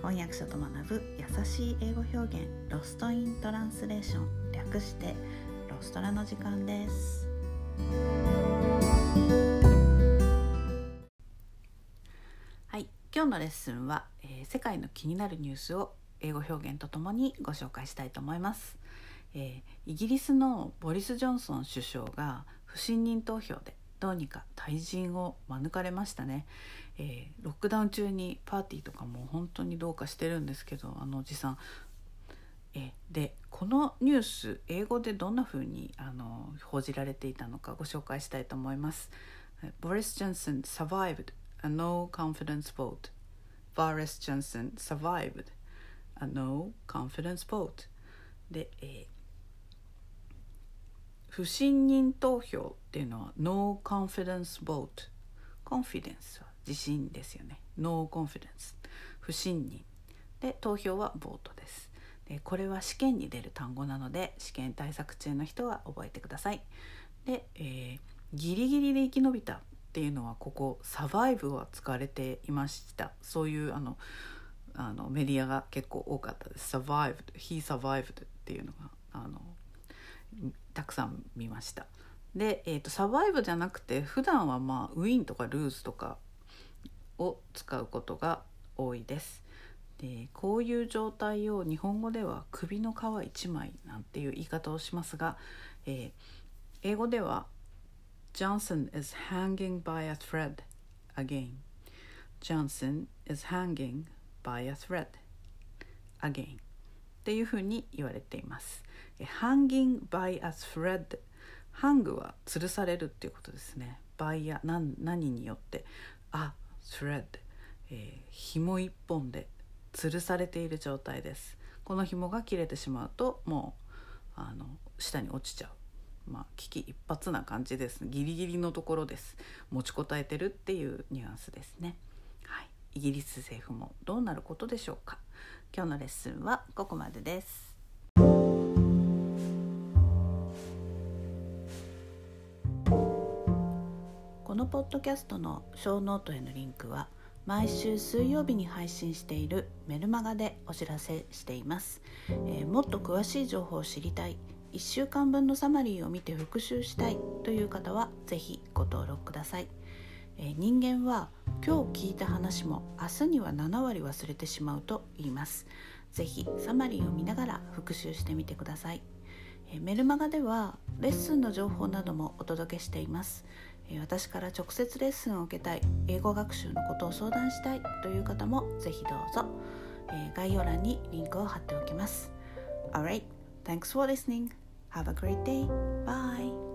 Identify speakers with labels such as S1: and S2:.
S1: 翻訳者と学ぶ優しい英語表現、ロストイントランスレーション、略してロストラの時間です。はい、今日のレッスンは、世界の気になるニュースを英語表現とともにご紹介したいと思います。イギリスのボリス・ジョンソン首相が不信任投票でどうにか退陣を免れましたね。ロックダウン中にパーティーとかも本当にどうかしてるんですけど、あのおじさん。でこのニュース、英語でどんな風に報じられていたのかご紹介したいと思います。Boris Johnson survived a no confidence vote. Boris Johnson survived a no confidence vote. で、不信任投票っていうのは No confidence vote。 confidence は自信ですよね。 No confidence 不信任で、投票はボートです。でこれは試験に出る単語なので、試験対策中の人は覚えてください。で、ギリギリで生き延びたっていうのは、ここサバイブは使われていました。そういうメディアが結構多かったです。survived、he survived っていうのがたくさん見ました。で、サバイブじゃなくて、普段はウィンとかルーズとかを使うことが多いです。でこういう状態を日本語では首の皮一枚なんていう言い方をしますが、英語では Johnson is hanging by a thread again. Johnson is hanging by a thread again っていうふうに言われています。hanging by a thread、 hang は吊るされるっていうことですね。by や何によって、thread、紐一本で吊るされている状態です。この紐が切れてしまうともう下に落ちちゃう、危機一髪な感じです。ギリギリのところです。持ちこたえてるっていうニュアンスですね。はい、イギリス政府もどうなることでしょうか。今日のレッスンはここまでです。このポッドキャストのショーノートへのリンクは毎週水曜日に配信しているメルマガでお知らせしています。もっと詳しい情報を知りたい、1週間分のサマリーを見て復習したいという方はぜひご登録ください。人間は今日聞いた話も明日には7割忘れてしまうと言います。ぜひサマリーを見ながら復習してみてください。メルマガではレッスンの情報などもお届けしています。私から直接レッスンを受けたい、英語学習のことを相談したいという方もぜひどうぞ。概要欄にリンクを貼っておきます。Alright, thanks for listening. Have a great day. Bye.